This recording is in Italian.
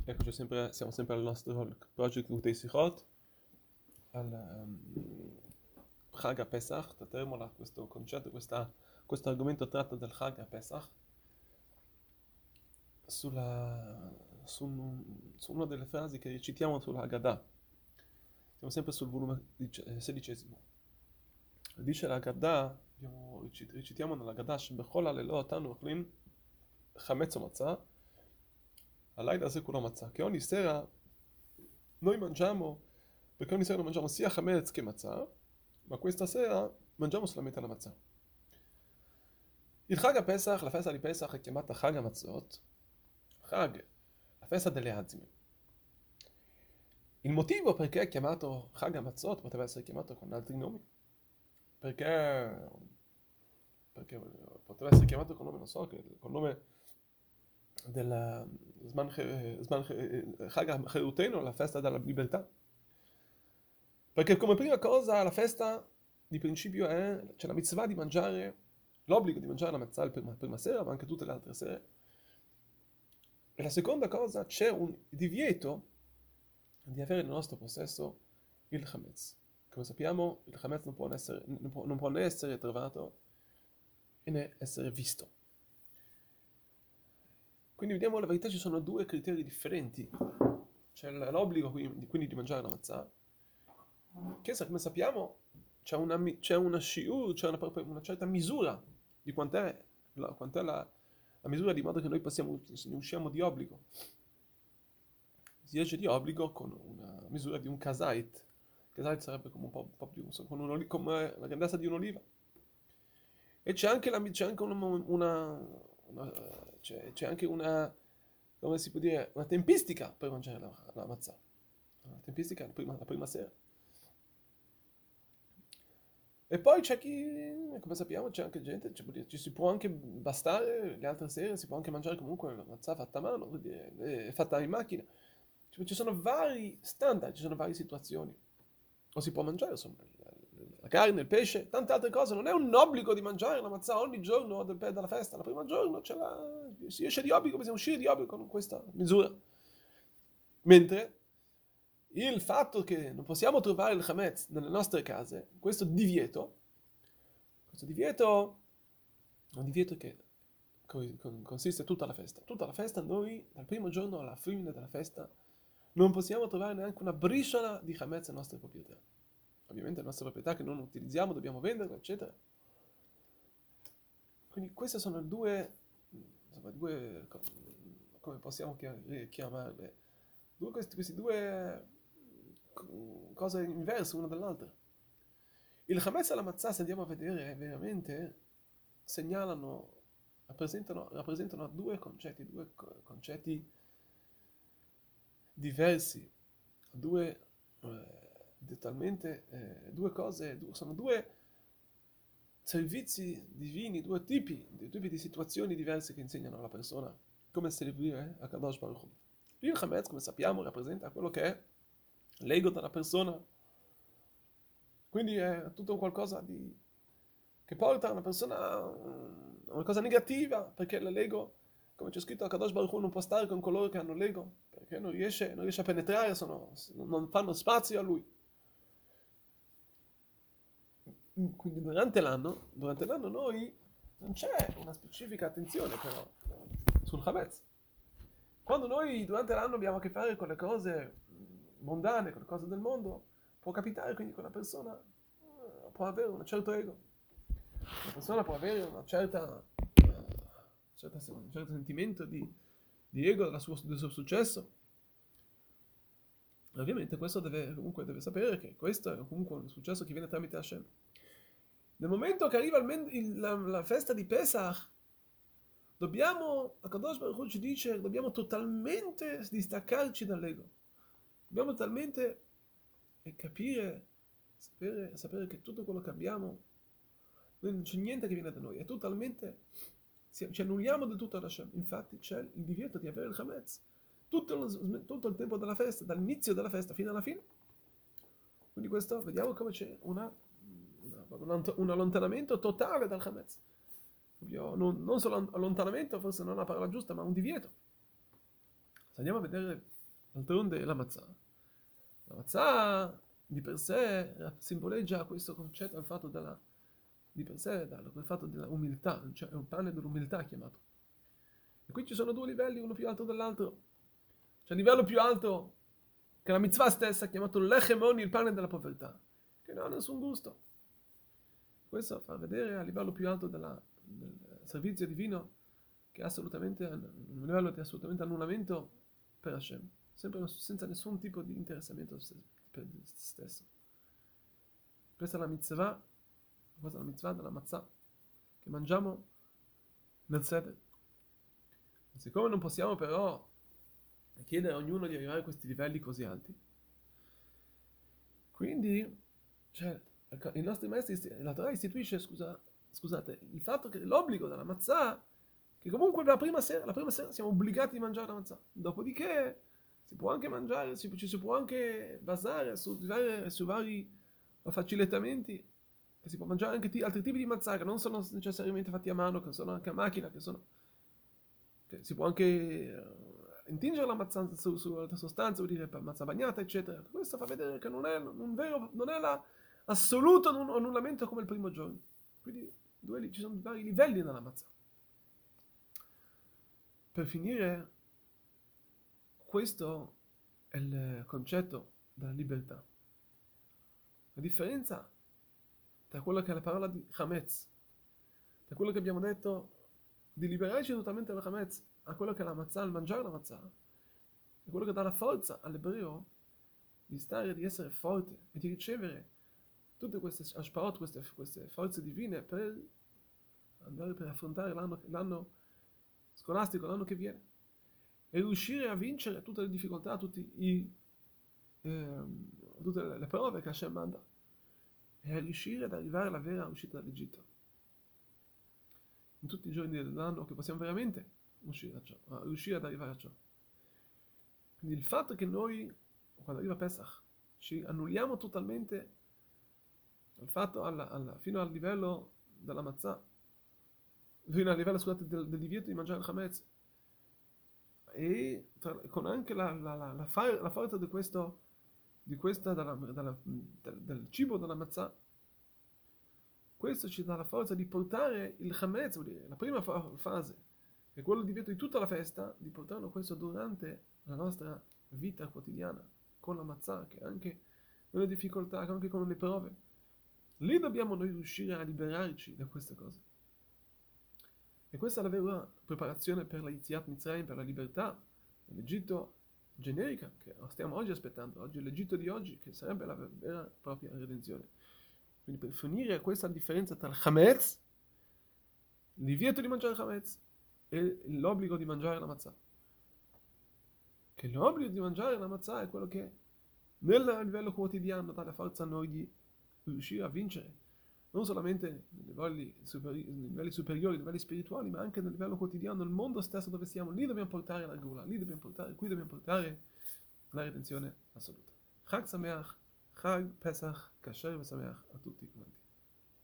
Eccoci siamo sempre al nostro project Utei Sichot, al Chag Pesach, tratteremo questo concetto, questo argomento tratta dal Chag Pesach su una delle frasi che recitiamo sulla Haggadah. Siamo sempre sul volume 16. Dice la Haggadah, recitiamo nella Haggadah, שבכל הלילות אנו אוכלים חמץ ומצה, הלילה הזה כולו מצה. che ogni sera noi mangiamo, perché ogni sera noi mangiamo sia chametz che matzah, ma questa sera mangiamo solamente la matzah. Il Chag Pesach, la festa di Pesach è chiamata Chag HaMatzot, Chag, la festa delle azime. Il motivo perché è chiamato Chag HaMatzot poteva essere chiamato con altri nomi, perché poteva essere chiamato con nome, non so, con nome del Chag HaCherutenu, la festa della libertà. Perché come prima cosa la festa di principio c'è la mitzvah di mangiare, l'obbligo di mangiare la matzah la prima sera, ma anche tutte le altre sere. E la seconda cosa, c'è un divieto di avere nel nostro possesso il chametz. Come sappiamo, il chametz non può né essere trovato né essere visto. Quindi vediamo, la verità ci sono due criteri differenti. C'è l'obbligo quindi di mangiare la matzah, che come sappiamo c'è una shiur, c'è una certa misura di quant'è la misura, di modo che noi ne usciamo di obbligo. Si esce di obbligo con una misura di un kazait. Kazait sarebbe come un po' più, come la grandezza di un'oliva. E c'è anche c'è anche una, come si può dire, una tempistica per mangiare la matzah. Una tempistica la prima sera. E poi c'è chi, come sappiamo, c'è anche gente, ci si può anche bastare le altre sere, si può anche mangiare comunque la matzah fatta a mano, fatta in macchina. Ci sono vari standard, ci sono varie situazioni. O si può mangiare, insomma, la carne, il pesce, tante altre cose. Non è un obbligo di mangiare la matzah ogni giorno della festa. La prima giorno si esce di obbligo, bisogna uscire di obbligo con questa misura. Mentre il fatto che non possiamo trovare il chametz nelle nostre case, questo divieto è un divieto che consiste tutta la festa. Tutta la festa noi, dal primo giorno alla fine della festa, non possiamo trovare neanche una briciola di chametz nelle nostre proprietà. Ovviamente le nostre proprietà che non utilizziamo dobbiamo venderle, eccetera. Quindi queste sono due, come possiamo chiamarle, questi due cose inverse una dall'altra. Il chametz e la matzah, se andiamo a vedere veramente, rappresentano due concetti diversi, sono due servizi divini, due tipi di situazioni diverse che insegnano alla persona come servire a Kadosh Baruch Hu. Il chametz, come sappiamo, rappresenta quello che è l'ego della persona, quindi è tutto qualcosa che porta una persona a una cosa negativa, perché l'ego, come c'è scritto, a Kadosh Baruch Hu non può stare con coloro che hanno l'ego, perché non riesce a penetrare, non fanno spazio a lui. Quindi durante l'anno noi non c'è una specifica attenzione però sul chametz. Quando noi durante l'anno abbiamo a che fare con le cose mondane, con le cose del mondo, può capitare quindi che una persona può avere un certo ego. Una persona può avere un certo sentimento di ego del suo successo. Ovviamente questo deve sapere che questo è comunque un successo che viene tramite Hashem. Nel momento che arriva la festa di Pesach, a Kadosh Baruch Hu ci dice, dobbiamo totalmente distaccarci dall'ego. Dobbiamo totalmente capire, sapere che tutto quello che abbiamo, noi non c'è niente che viene da noi, è totalmente, ci annulliamo del tutto ad Hashem. Infatti c'è il divieto di avere il chametz tutto il tempo della festa, dall'inizio della festa fino alla fine. Quindi questo, vediamo come c'è un allontanamento totale dal chametz. Non solo allontanamento, forse non è la parola giusta, ma un divieto. Se andiamo a vedere d'altronde la matzah di per sé simboleggia questo concetto, il fatto di per sé, il fatto della umiltà, cioè è un pane dell'umiltà chiamato. E qui ci sono due livelli, uno più alto dell'altro. C'è il livello più alto, che è la mitzvah stessa, chiamato l'echemoni, il pane della povertà, che non ha nessun gusto. Questo fa vedere a livello più alto del servizio divino, che è assolutamente un livello di assolutamente annullamento per Hashem, sempre senza nessun tipo di interessamento per se stesso. Questa è la mitzvah della matzah che mangiamo nel seder. Siccome non possiamo però chiedere a ognuno di arrivare a questi livelli così alti, quindi cioè, i nostri maestri, la Torah istituisce, scusate, il fatto che l'obbligo della matzah, che comunque la prima sera siamo obbligati a mangiare la matzah, dopodiché si può anche mangiare, ci si può anche basare su vari facilitamenti, che si può mangiare anche altri tipi di matzah che non sono necessariamente fatti a mano, che sono anche a macchina, che si può anche intingere la mazzà su altre sostanze, vuol dire per mazzà bagnata, eccetera. Questo fa vedere che non è l'assoluto annullamento come il primo giorno. Quindi ci sono vari livelli nella mazzà. Per finire, questo è il concetto della libertà. La differenza tra quello che è la parola di Hametz, tra quello che abbiamo detto di liberarci totalmente dalla Hametz, a quello che è la matzah, il mangiare la matzah, è quello che dà la forza all'ebreo di essere forte e di ricevere tutte queste ashparot, queste forze divine per affrontare l'anno scolastico, l'anno che viene, e riuscire a vincere tutte le difficoltà, tutte le prove che Hashem manda, e a riuscire ad arrivare alla vera uscita dall'Egitto. In tutti i giorni dell'anno che possiamo veramente riuscire ad arrivare a ciò. Quindi il fatto che noi, quando arriva Pesach, ci annulliamo totalmente fino al livello della matzah, fino al livello, scusate, del divieto di mangiare il chametz, e con anche la forza del cibo della matzah, questo ci dà la forza di portare il chametz, vuol dire la prima fase, che è quello di divieto di tutta la festa, di portarlo questo durante la nostra vita quotidiana, con la matzah, che anche con le difficoltà, anche con le prove. Lì dobbiamo noi riuscire a liberarci da queste cose. E questa è la vera preparazione per la Yetziat Mitzrayim, per la libertà dell'Egitto generica, che stiamo oggi aspettando. Oggi è l'Egitto di oggi, che sarebbe la vera e propria redenzione. Quindi per finire questa differenza tra il Hametz, il divieto di mangiare il Hametz, e l'obbligo di mangiare la matzah. Che l'obbligo di mangiare la matzah è quello che nel livello quotidiano dà la forza a noi di riuscire a vincere, non solamente nei livelli superiori, livelli spirituali, ma anche nel livello quotidiano, nel mondo stesso dove siamo. Lì dobbiamo portare la Gula, qui dobbiamo portare la redenzione assoluta. Chag Sameach, Chag Pesach, Kasher e Sameach a tutti quanti.